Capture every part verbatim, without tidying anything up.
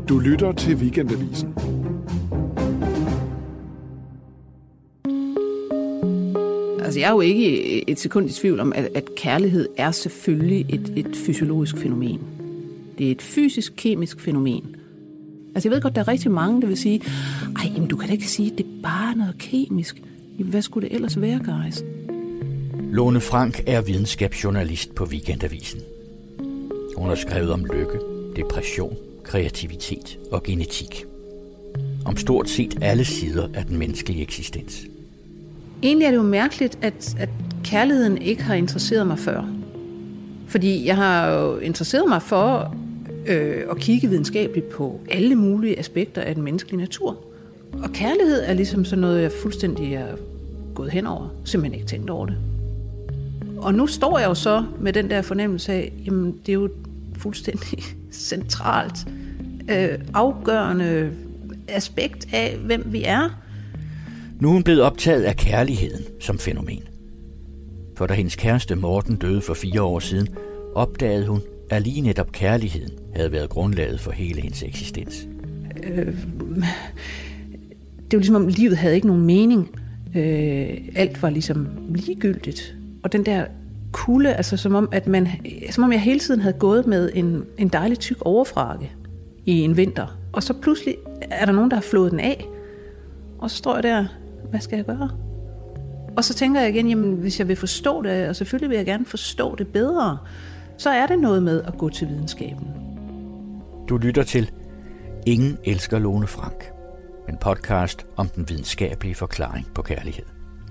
Du lytter til Weekendavisen. Altså, jeg er jo ikke et sekund i tvivl om, at, at kærlighed er selvfølgelig et, et fysiologisk fænomen. Det er et fysisk-kemisk fænomen. Altså, jeg ved godt, der er rigtig mange, der vil sige, ej, jamen, du kan da ikke sige, at det er bare noget kemisk. Jamen, hvad skulle det ellers være, guys? Lone Frank er videnskabsjournalist på Weekendavisen. Hun har skrevet om lykke, depression, kreativitet og genetik. Om stort set alle sider af den menneskelige eksistens. Egentlig er det jo mærkeligt, at, at kærligheden ikke har interesseret mig før. Fordi jeg har jo interesseret mig for øh, at kigge videnskabeligt på alle mulige aspekter af den menneskelige natur. Og kærlighed er ligesom sådan noget, jeg fuldstændig er gået hen over. Simpelthen ikke tænkt over det. Og nu står jeg jo så med den der fornemmelse af, jamen det er jo fuldstændig centralt, øh, afgørende aspekt af, hvem vi er. Nu er hun blevet optaget af kærligheden som fænomen. For da hendes kæreste Morten døde for fire år siden, opdagede hun, at lige netop kærligheden havde været grundlaget for hele hendes eksistens. Øh, det er jo ligesom om livet havde ikke nogen mening. Øh, alt var ligesom ligegyldigt. Og den der kulde, altså som om, at man, som om jeg hele tiden havde gået med en, en dejlig tyk overfrakke i en vinter. Og så pludselig er der nogen, der har flået den af. Og så står jeg der, hvad skal jeg gøre? Og så tænker jeg igen, jamen hvis jeg vil forstå det, og selvfølgelig vil jeg gerne forstå det bedre, så er det noget med at gå til videnskaben. Du lytter til Ingen elsker Lone Frank. En podcast om den videnskabelige forklaring på kærlighed.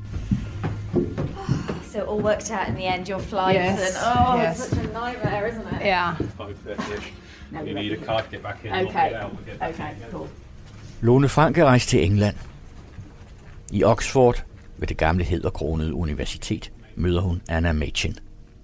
So it all worked out in the end, your flights, Yes, and oh, yes. it's such a nightmare, isn't it? Yeah. five thirty-ish. No, You you're need a ready. card to get back in. Okay. Get out, we'll get back Okay, in. cool. Lone Frank er rejst til England. I Oxford, ved det gamle hæderkronede universitet, møder hun Anna Machin.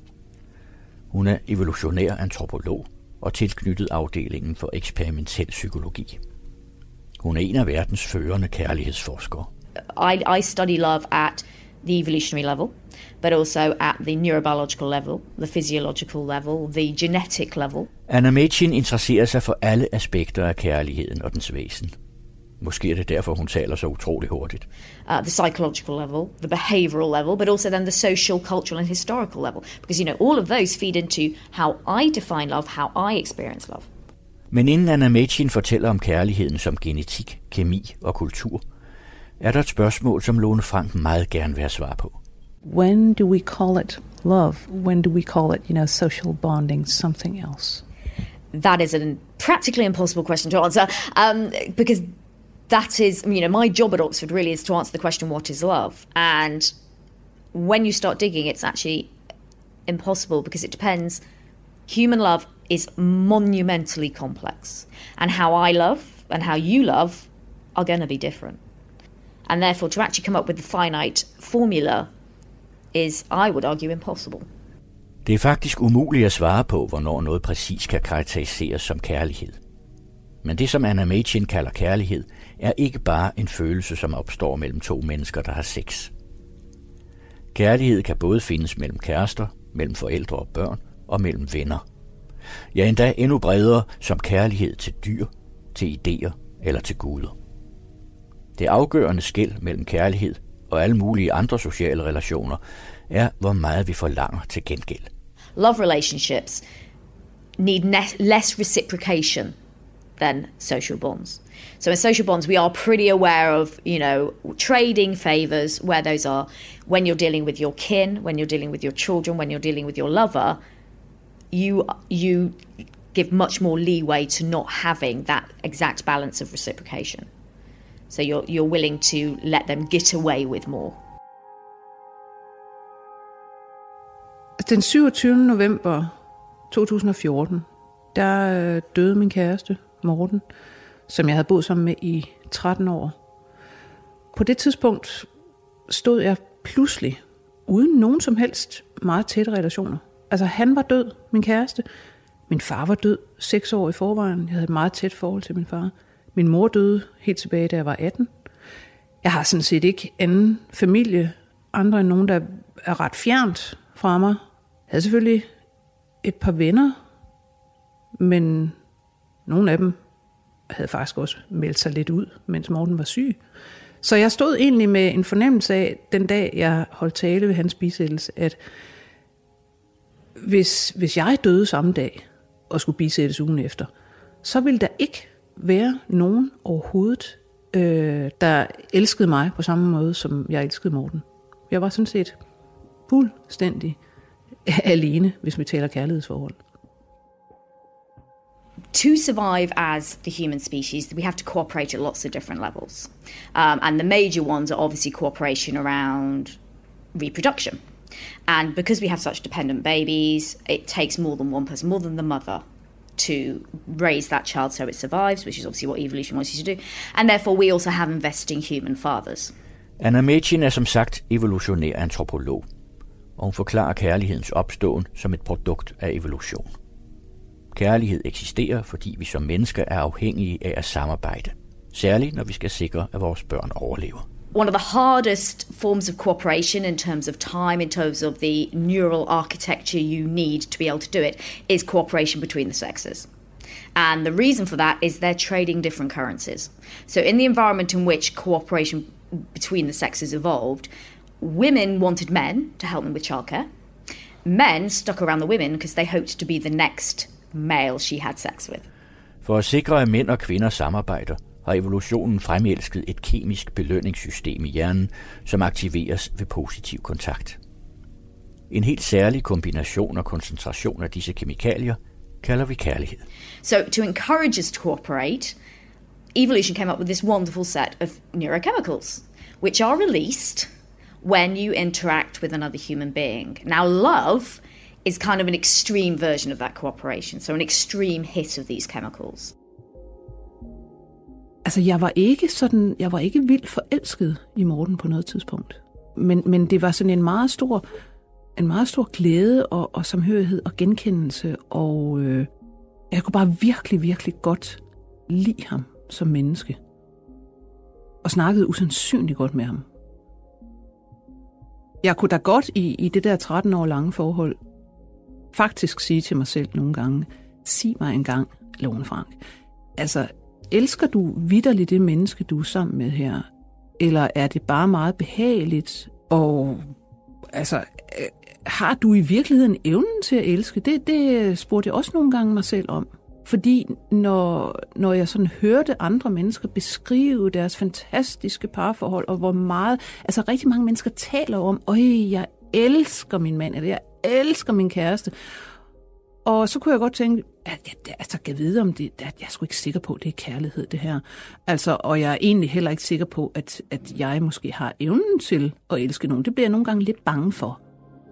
Hun er evolutionær antropolog og tilknyttet afdelingen for eksperimentel psykologi. Hun er en af verdens førende kærlighedsforskere. I, I study love at the evolutionary level, but also at the neurobiological level, the physiological level, the genetic level. Anna Machin interesserer sig for alle aspekter af kærligheden og dens væsen. Måske er det derfor, hun taler så utrolig hurtigt. Uh, the psychological level, the behavioral level, but also then the social, cultural and historical level. Because, you know, all of those feed into how I define love, how I experience love. Men inden Anna Machin fortæller om kærligheden som genetik, kemi og kultur, er der et spørgsmål, som Lone Frank meget gerne vil have svar på. When do we call it love? When do we call it, you know, social bonding, something else? That is a practically impossible question to answer, um, because that is, you know, my job at Oxford really is to answer the question, what is love? And when you start digging, it's actually impossible because it depends. Human love is monumentally complex. And how I love and how you love are going to be different. And therefore, to actually come up with the finite formula is, I would argue, impossible. Det er faktisk umuligt at svare på, hvornår noget præcis kan karakteriseres som kærlighed. Men det, som Anna Machin kalder kærlighed, er ikke bare en følelse, som opstår mellem to mennesker, der har sex. Kærlighed kan både findes mellem kærester, mellem forældre og børn og mellem venner. Ja, endda endnu bredere som kærlighed til dyr, til idéer eller til guder. Det afgørende skel mellem kærlighed og alle mulige andre sociale relationer er, hvor meget vi forlanger til gengæld. Love relationships need ne- less reciprocation than social bonds. So in social bonds, we are pretty aware of, you know, trading favors, where those are when you're dealing with your kin, when you're dealing with your children, when you're dealing with your lover, you you give much more leeway to not having that exact balance of reciprocation. So you're you're willing to let them get away with more. Den syvogtyvende november to tusind og fjorten, der døde min kæreste, Morten, som jeg havde boet sammen med i tretten år. På det tidspunkt stod jeg pludselig uden nogen som helst meget tætte relationer. Altså han var død, min kæreste. Min far var død seks år i forvejen. Jeg havde et meget tæt forhold til min far. Min mor døde helt tilbage, da jeg var atten. Jeg har sådan set ikke anden familie, andre end nogen, der er ret fjernt fra mig. Jeg havde selvfølgelig et par venner, men nogle af dem havde faktisk også meldt sig lidt ud, mens Morten var syg. Så jeg stod egentlig med en fornemmelse af, den dag jeg holdt tale ved hans bisættelse, at hvis, hvis jeg døde samme dag og skulle bisættes ugen efter, så ville der ikke være nogen overhovedet, øh, der elskede mig på samme måde, som jeg elskede Morten. Jeg var sådan set fuldstændig alene, hvis vi taler kærlighedsforhold. To survive as the human species, we have to cooperate at lots of different levels. Um, and the major ones are obviously cooperation around reproduction. And because we have such dependent babies, it takes more than one person, more than the mother, to raise that child so it survives, which is obviously what evolution wants you to do. And therefore we also have investing human fathers. Anna Mädchen er som sagt evolutionær antropolog, og hun forklarer kærlighedens opståen som et produkt af evolution. Kærlighed eksisterer, fordi vi som mennesker er afhængige af at samarbejde, særligt når vi skal sikre, at vores børn overlever. One of the hardest forms of cooperation in terms of time, in terms of the neural architecture you need to be able to do it, is cooperation between the sexes. And the reason for that is they're trading different currencies. So in the environment in which cooperation between the sexes evolved, women wanted men to help them with childcare. Men stuck around the women because they hoped to be the next male she had sex with. For at sikre, at mænd og kvinder samarbejder, har evolutionen fremelsket et kemisk belønningssystem i hjernen, som aktiveres ved positiv kontakt. En helt særlig kombination og koncentration af disse kemikalier kalder vi kærlighed. So to encourage us to cooperate, evolution came up with this wonderful set of neurochemicals, which are released when you interact with another human being. Now, love is kind of an extreme version of that cooperation, so an extreme hit of these chemicals. Altså, jeg var ikke sådan, jeg var ikke vildt forelsket i Morten på noget tidspunkt. Men, men det var sådan en meget stor, en meget stor glæde og, og samhørighed og genkendelse, og øh, jeg kunne bare virkelig, virkelig godt lide ham som menneske. Og snakkede usandsynligt godt med ham. Jeg kunne da godt i, i det der tretten år lange forhold faktisk sige til mig selv nogle gange, sig mig engang, Lone Frank, altså, elsker du vitterligt det menneske, du er sammen med her? Eller er det bare meget behageligt? Og altså, har du i virkeligheden evnen til at elske? Det, det spurgte jeg også nogle gange mig selv om. Fordi når, når jeg sådan hørte andre mennesker beskrive deres fantastiske parforhold, og hvor meget, altså rigtig mange mennesker taler om, øj, jeg elsker min mand, eller jeg elsker min kæreste. Og så kunne jeg godt tænke, at jeg, altså, kan jeg vide om det, at jeg er sgu ikke sikker på, at det er kærlighed, det her. Altså, og jeg er egentlig heller ikke sikker på, at, at jeg måske har evnen til at elske nogen. Det bliver jeg nogle gange lidt bange for.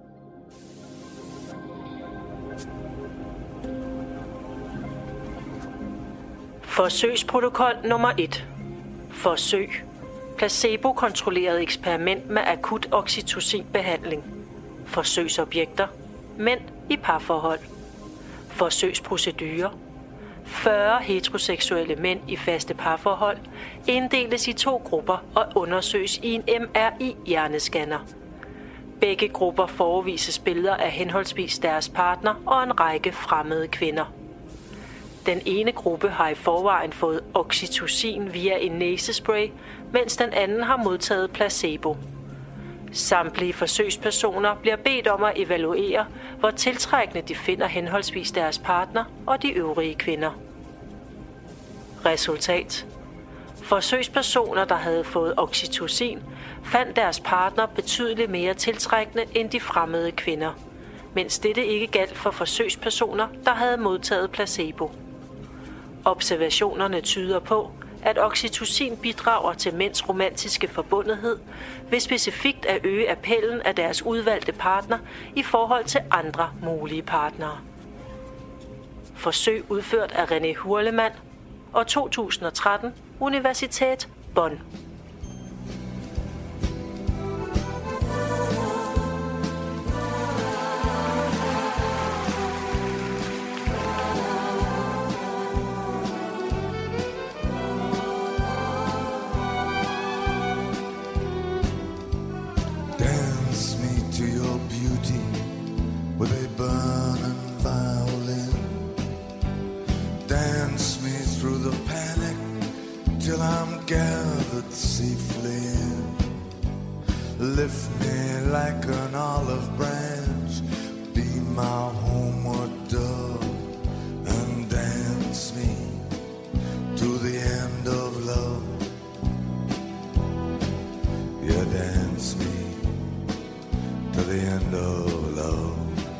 Forsøgsprotokol nummer et. Forsøg. Placebo-kontrolleret eksperiment med akut oxytocinbehandling. Forsøgsobjekter. Mænd i parforhold. Forsøgsprocedurer. fyrre heteroseksuelle mænd i faste parforhold inddeles i to grupper og undersøges i en M R I-hjerneskanner. Begge grupper forevises billeder af henholdsvis deres partner og en række fremmede kvinder. Den ene gruppe har i forvejen fået oxytocin via en næsespray, mens den anden har modtaget placebo. Samtlige forsøgspersoner bliver bedt om at evaluere, hvor tiltrækkende de finder henholdsvis deres partner og de øvrige kvinder. Resultat. Forsøgspersoner, der havde fået oxytocin, fandt deres partner betydeligt mere tiltrækkende end de fremmede kvinder, mens dette ikke galt for forsøgspersoner, der havde modtaget placebo. Observationerne tyder på, at oxytocin bidrager til mænds romantiske forbundethed ved specifikt at øge appellen af deres udvalgte partner i forhold til andre mulige partnere. Forsøg udført af René Hurlemann og to tusind og tretten Universität Bonn. With a burning violin, dance me through the panic lift me like an olive branch, be my homeward dove, and dance me to the end of love. Yeah, dance me to the end of love.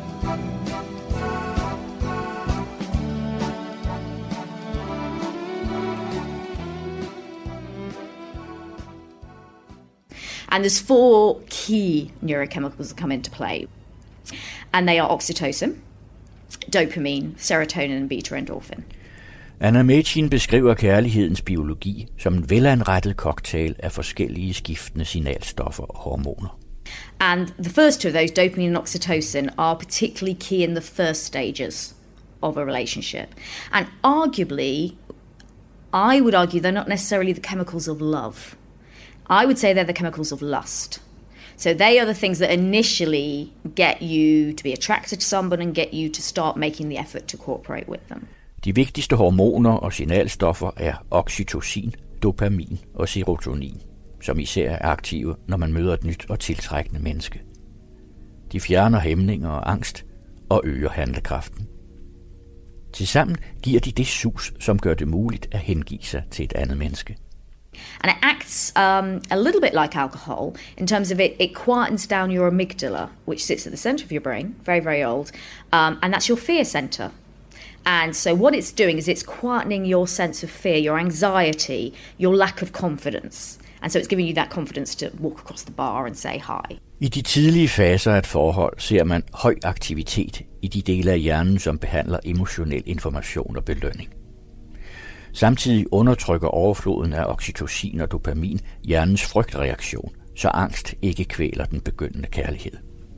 And there's four key neurochemicals that come into play. And they are oxytocin, dopamine, serotonin and beta-endorphin. Anna Machin beskriver kærlighedens biologi som en velanrettet cocktail af forskellige skiftende signalstoffer og hormoner. And the first two of those, dopamine and oxytocin, are particularly key in the first stages of a relationship. And arguably, I would argue they're not necessarily the chemicals of love. I would say they're the chemicals of lust. So they are the things that initially get you to be attracted to someone and get you to start making the effort to cooperate with them. De vigtigste hormoner og signalstoffer er oxytocin, dopamin og serotonin, som især er aktive, når man møder et nyt og tiltrækkende menneske. De fjerner hæmninger og angst og øger handlekraften. Tilsammen giver de det sus, som gør det muligt at hengive sig til et andet menneske. And it acts um, a little bit like alcohol in terms of it, it quietens down your amygdala, which sits at the center of your brain, very, very old, um, and that's your fear center. And so what it's doing is it's quietening your sense of fear, your anxiety, your lack of confidence. And so it's giving you that confidence to walk across the bar and say hi. I de tidlige faser af et forhold ser man høj aktivitet i de dele af hjernen, som behandler emotionel information og belønning. Samtidig undertrykker overfloden af oxytocin og dopamin hjernens frygtreaktion, så angst ikke kvæler den begyndende kærlighed.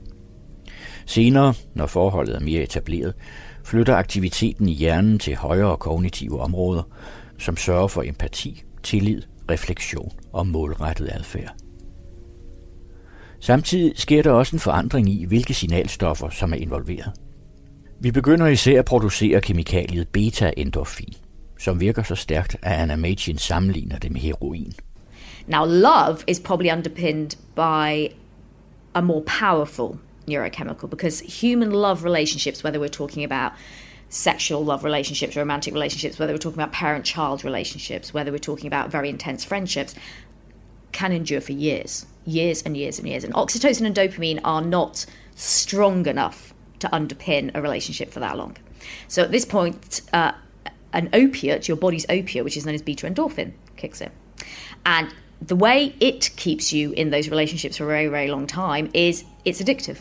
Senere, når forholdet er mere etableret, flytter aktiviteten i hjernen til højere kognitive områder, som sørger for empati, tillid, refleksion og målrettet adfærd. Samtidig sker der også en forandring i, hvilke signalstoffer, som er involveret. Vi begynder især at producere kemikaliet beta-endorfin, som virker så stærkt, at Anna Machin sammenligner det med heroin. Now, love is probably underpinned by a more powerful neurochemical, because human love relationships, whether we're talking about sexual love relationships, romantic relationships, whether we're talking about parent-child relationships, whether we're talking about very intense friendships, can endure for years, years and years and years. And oxytocin and dopamine are not strong enough to underpin a relationship for that long. So at this point, uh, an opiate, your body's opiate, which is known as beta-endorphin, kicks in. And the way it keeps you in those relationships for a very, very long time is it's addictive.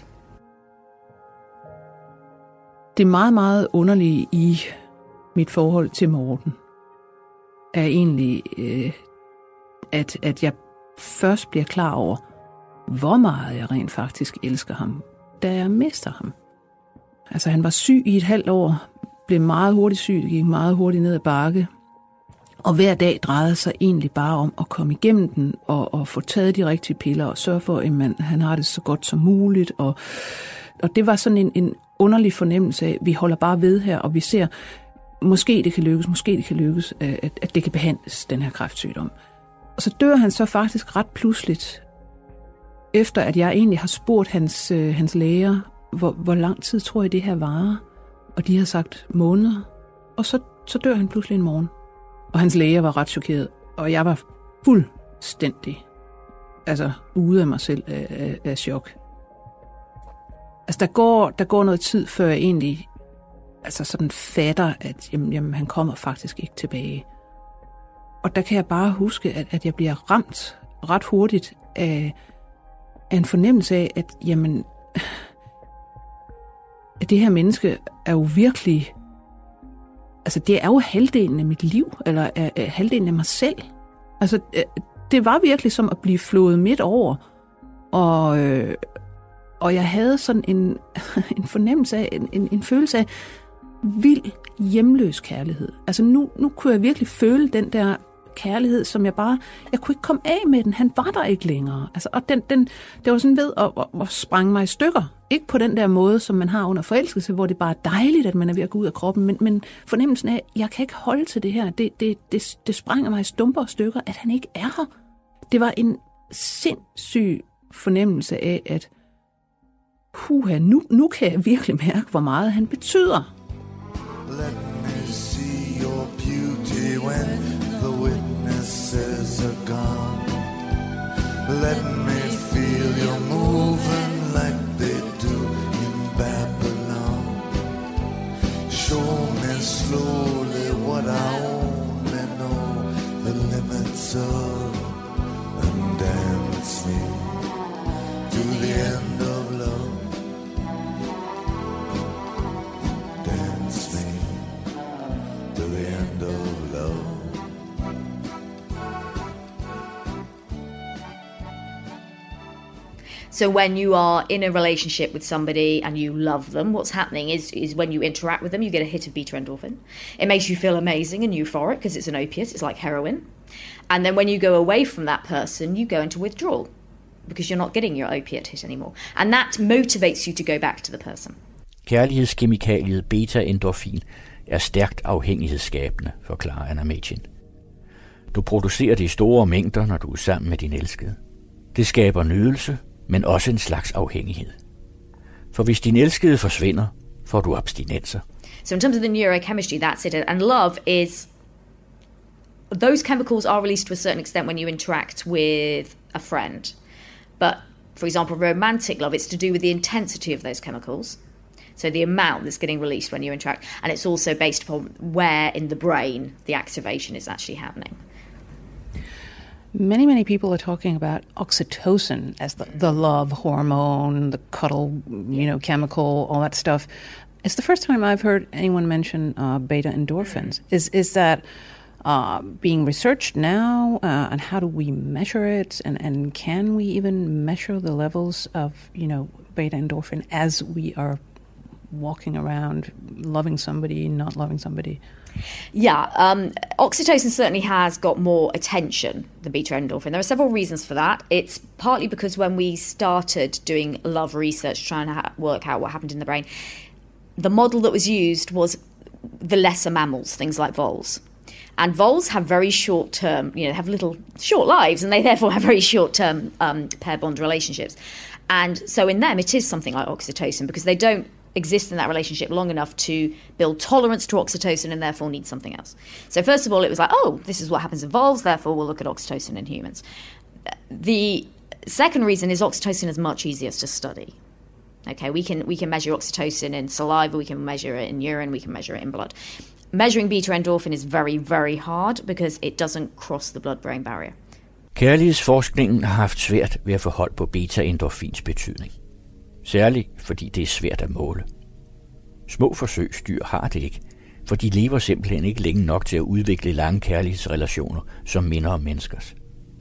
Det meget, meget underlige i mit forhold til Morten er egentlig, øh, at, at jeg først bliver klar over, hvor meget jeg rent faktisk elsker ham, da jeg mister ham. Altså, han var syg i et halvt år, blev meget hurtigt syg, gik meget hurtigt ned ad bakke, og hver dag drejede sig egentlig bare om at komme igennem den og, og få taget de rigtige piller og sørge for, at man, han har det så godt som muligt. Og, og det var sådan en, en underlig fornemmelse af, at vi holder bare ved her, og vi ser, måske det kan lykkes, måske det kan lykkes, at, at det kan behandles, den her kræftsygdom. Og så dør han så faktisk ret pludseligt, efter at jeg egentlig har spurgt hans, øh, hans læger, hvor, hvor lang tid tror jeg det her varer? Og de har sagt måneder, og så, så dør han pludselig en morgen. Og hans læger var ret chokeret, og jeg var fuldstændig altså ude af mig selv af, af, af chok. Altså der går, der går noget tid, før jeg egentlig altså sådan fatter, at jamen, jamen, han kommer faktisk ikke tilbage. Og der kan jeg bare huske, at, at jeg bliver ramt ret hurtigt af, af en fornemmelse af, at jamen, at det her menneske er jo virkelig, altså det er jo halvdelen af mit liv, eller er, er halvdelen af mig selv. Altså det var virkelig som at blive flået midt over, og, øh, og jeg havde sådan en, en fornemmelse af, en, en, en følelse af vild hjemløs kærlighed. Altså nu, nu kunne jeg virkelig føle den der kærlighed, som jeg bare, jeg kunne ikke komme af med den, han var der ikke længere. Altså, og den, den, det var sådan ved at, at, at sprænge mig i stykker. Ikke på den der måde, som man har under forelskelse, hvor det bare er dejligt, at man er ved at gå ud af kroppen, men, men fornemmelsen af, at jeg kan ikke holde til det her, det, det, det, det sprænger mig i stumper og stykker, at han ikke er her. Det var en sindssyg fornemmelse af, at huha, nu, nu kan jeg virkelig mærke, hvor meget han betyder. Let me see your beauty when the witnesses are gone. Let me feel you moving like they do in Babylon. Show me slowly what I only know the limits of, and dance me to the end of love. Dance me to the end of love. So when you are in a relationship with somebody and you love them, what's happening is, is when you interact with them, you get a hit of beta endorphin. It makes you feel amazing and euphoric because it's an opiate, it's like heroin. And then when you go away from that person, you go into withdrawal because you're not getting your opiate hit anymore. And that motivates you to go back to the person. Kærlighedskemikaliet beta-endorfin er stærkt afhængighedsskabende, forklarer Anna Mädchen. Du producerer det i store mængder, når du er sammen med din elskede. Det skaber nydelse, men også en slags afhængighed. For hvis din elskede forsvinder, får du abstinenser. So in terms of the neurochemistry, that's it. And love is, those chemicals are released to a certain extent when you interact with a friend. But for example, romantic love, it's to do with the intensity of those chemicals. So the amount that's getting released when you interact. And it's also based upon where in the brain the activation is actually happening. Many, many people are talking about oxytocin as the, the love hormone, the cuddle, you know, chemical, all that stuff. It's the first time I've heard anyone mention uh, beta endorphins. Is is that uh, being researched now, uh, and how do we measure it, and, and can we even measure the levels of, you know, beta endorphin as we are walking around, loving somebody, not loving somebody? Yeah, um, oxytocin certainly has got more attention than beta endorphin. There are several reasons for that. It's partly because when we started doing love research, trying to ha- work out what happened in the brain, the model that was used was the lesser mammals, things like voles. And voles have very short-term, you know, have little short lives, and they therefore have very short-term um, pair bond relationships. And so in them, it is something like oxytocin because they don't exist in that relationship long enough to build tolerance to oxytocin and therefore need something else. So first of all, it was like, oh, this is what happens in voles, therefore we'll look at oxytocin in humans. The second reason is oxytocin is much easier to study. Okay, we can we can measure oxytocin in saliva, we can measure it in urine, we can measure it in blood. Measuring beta endorphin is very, very hard because it doesn't cross the blood-brain barrier. Kærlighedsforskningen har haft svært ved at få hold på beta-endorfins betydning. Særligt fordi det er svært at måle. Små forsøgsdyr har det ikke, for de lever simpelthen ikke længe nok til at udvikle lange kærlighedsrelationer, som minder om menneskers.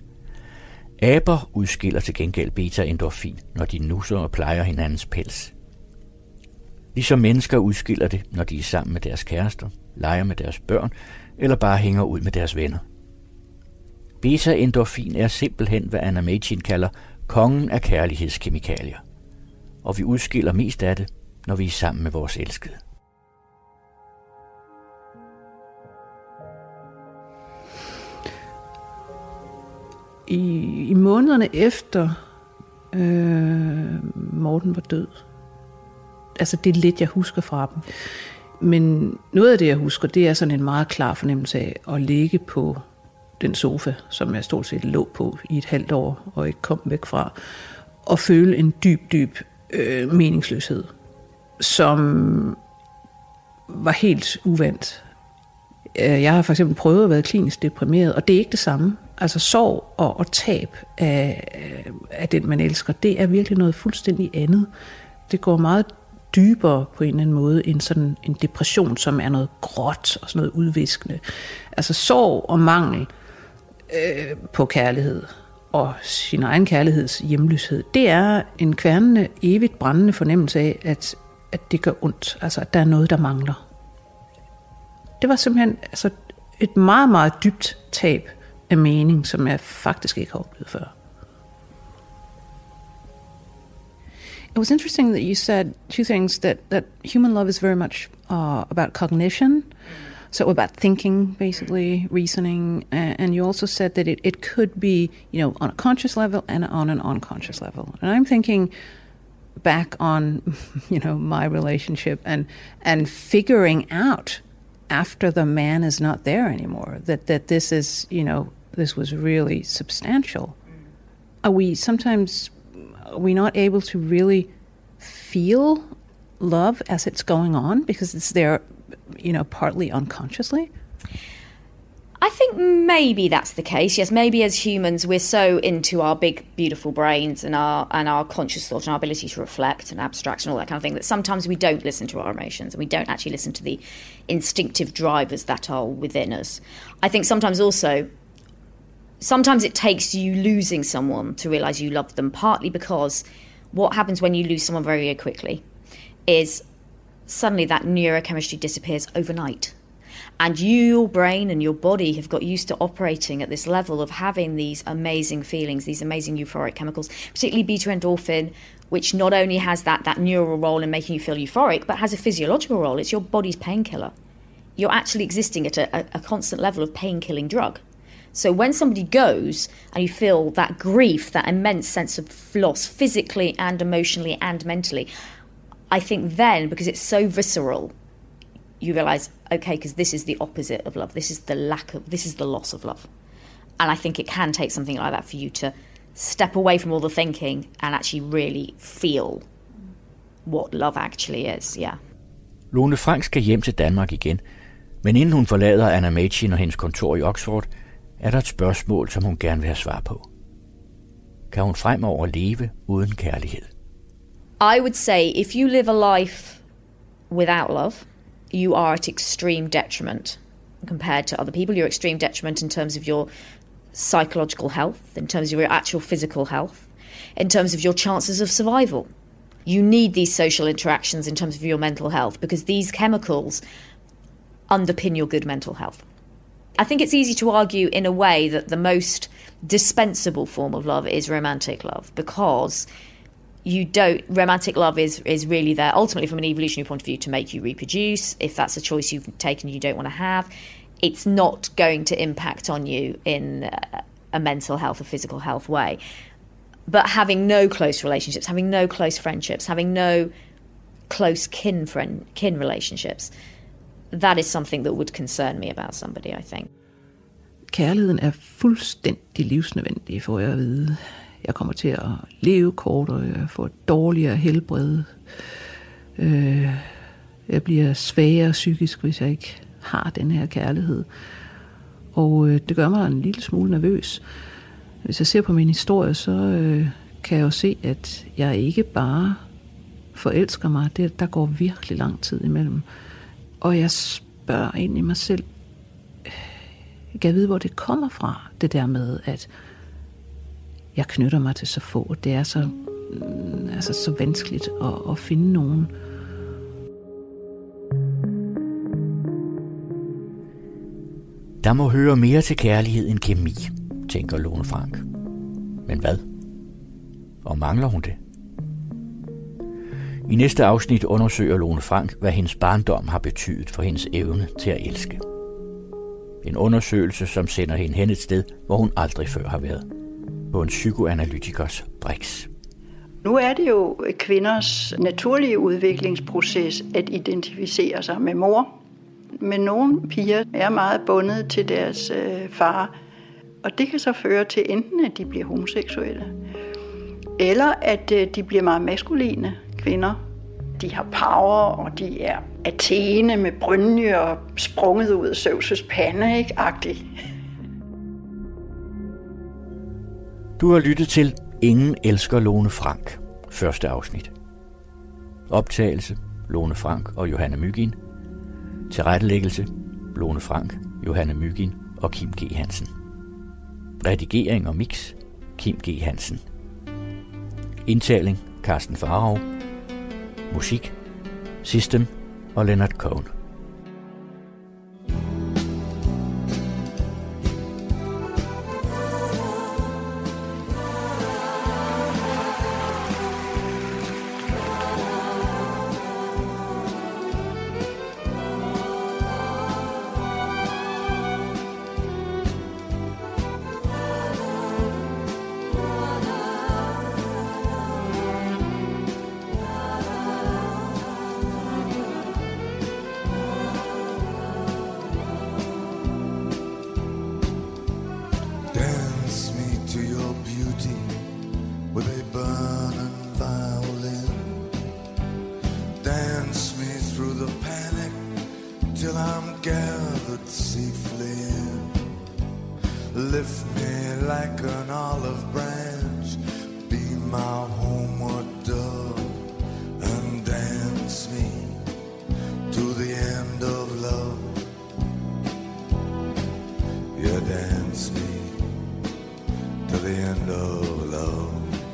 Aber udskiller til gengæld beta-endorfin, når de nusser og plejer hinandens pels. Ligesom mennesker udskiller det, når de er sammen med deres kærester, leger med deres børn eller bare hænger ud med deres venner. Beta-endorfin er simpelthen, hvad Anna Mädchen kalder kongen af kærlighedskemikalier. Og vi udskiller mest af det, når vi er sammen med vores elskede. I, i månederne efter øh, Morten var død, altså det er lidt, jeg husker fra dem, men noget af det, jeg husker, det er sådan en meget klar fornemmelse af at ligge på den sofa, som jeg stort set lå på i et halvt år og ikke kom væk fra, og føle en dyb, dyb øh, meningsløshed, som var helt uvandt. Jeg har for eksempel prøvet at være klinisk deprimeret, og det er ikke det samme. Altså sorg og, og tab af, af den, man elsker, det er virkelig noget fuldstændig andet. Det går meget dybere på en eller anden måde end sådan en depression, som er noget gråt og sådan noget udviskende. Altså sorg og mangel øh, på kærlighed og sin egen kærligheds hjemløshed, det er en kværnende, evigt brændende fornemmelse af, at, at det gør ondt. Altså at der er noget, der mangler. Det var simpelthen altså, et meget, meget dybt tab af mening, som jeg faktisk ikke har oplevet før. It was interesting that you said two things, that, that human love is very much uh, about cognition, So about thinking, basically, reasoning, uh, and you also said that it, it could be, you know, on a conscious level and on an unconscious level. And I'm thinking back on, you know, my relationship and and figuring out after the man is not there anymore that, that this is, you know, this was really substantial. Are we sometimes, are we not able to really feel love as it's going on because it's there, you know, partly unconsciously? I think maybe that's the case. Yes, maybe as humans we're so into our big, beautiful brains and our and our conscious thought and our ability to reflect and abstract and all that kind of thing that sometimes we don't listen to our emotions and we don't actually listen to the instinctive drivers that are within us. I think sometimes also, sometimes it takes you losing someone to realise you love them, partly because what happens when you lose someone very, very quickly is suddenly that neurochemistry disappears overnight. And you, your brain and your body have got used to operating at this level of having these amazing feelings, these amazing euphoric chemicals, particularly beta-endorphin, which not only has that, that neural role in making you feel euphoric, but has a physiological role. It's your body's painkiller. You're actually existing at a, a, a constant level of pain-killing drug. So when somebody goes and you feel that grief, that immense sense of loss, physically and emotionally and mentally, I think then, because it's so visceral, you realise, okay, because this is the opposite of love. This is the lack of, this is the loss of love. And I think it can take something like that for you to step away from all the thinking and actually really feel what love actually is, yeah. Lone Frank skal hjem til Danmark igen, men inden hun forlader Anna Machin og hendes kontor i Oxford, er der et spørgsmål, som hun gerne vil have svar på. Kan hun fremover leve uden kærlighed? I would say if you live a life without love, you are at extreme detriment compared to other people. You're extreme detriment in terms of your psychological health, in terms of your actual physical health, in terms of your chances of survival. You need these social interactions in terms of your mental health because these chemicals underpin your good mental health. I think it's easy to argue in a way that the most dispensable form of love is romantic love because you don't, romantic love is, is really there ultimately from an evolutionary point of view to make you reproduce. If that's a choice you've taken you don't want to have, it's not going to impact on you in a, a mental health or physical health way. But having no close relationships, having no close friendships, having no close kin friend kin relationships, that is something that would concern me about somebody, I think. Kærligheden er fuldstændig livsnødvendig, får jeg at vide. Jeg kommer til at leve kortere, jeg får et dårligere helbred. Øh, jeg bliver svagere psykisk, hvis jeg ikke har den her kærlighed. Og øh, det gør mig en lille smule nervøs. Hvis jeg ser på min historie, så øh, kan jeg jo se, at jeg ikke bare forelsker mig. Det, der går virkelig lang tid imellem. Og jeg spørger egentlig mig selv, jeg kan vide, hvor det kommer fra, det der med, at jeg knytter mig til så få. Det er så, altså, så vanskeligt at, at finde nogen. Der må høre mere til kærlighed end kemi, tænker Lone Frank. Men hvad? Og mangler hun det? I næste afsnit undersøger Lone Frank, hvad hendes barndom har betydet for hendes evne til at elske. En undersøgelse, som sender hende hen et sted, hvor hun aldrig før har været. På en psykoanalytikers briks. Nu er det jo kvinders naturlige udviklingsproces at identificere sig med mor. Men nogle piger er meget bundet til deres øh, far. Og det kan så føre til enten, at de bliver homoseksuelle, eller at øh, de bliver meget maskuline kvinder. De har power, og de er Athene med brynje og sprunget ud af Zeus' pande, ikke? Agtigt. Du har lyttet til Ingen elsker Lone Frank, første afsnit. Optagelse, Lone Frank og Johanne Mygin. Tilrettelæggelse, Lone Frank, Johanne Mygin og Kim G. Hansen. Redigering og mix, Kim G. Hansen. Indtaling, Carsten Farov. Musik, System og Leonard Cohen. the panic till I'm gathered safely in. Lift me like an olive branch, be my homeward dove, and dance me to the end of love. Yeah, dance me to the end of love.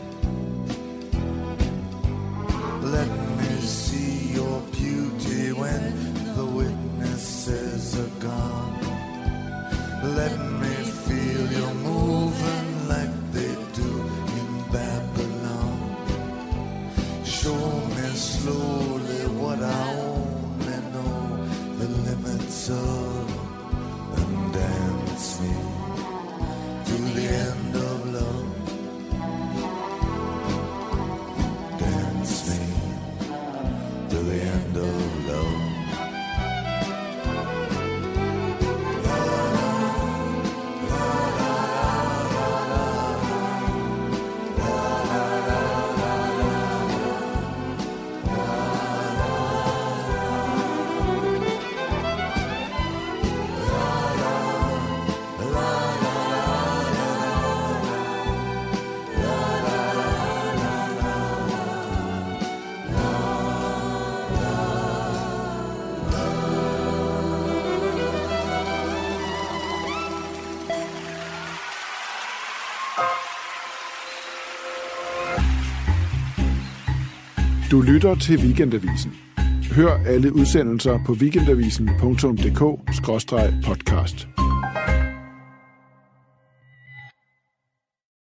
Let me see your beauty when the witnesses are gone. Let me feel you moving like they do in Babylon. Show me slowly what I only know the limits of, and dance me to the end of love. Dance me to the end of love. Du lytter til Weekendavisen. Hør alle udsendelser på weekendavisen punktum d k skråstreg podcast.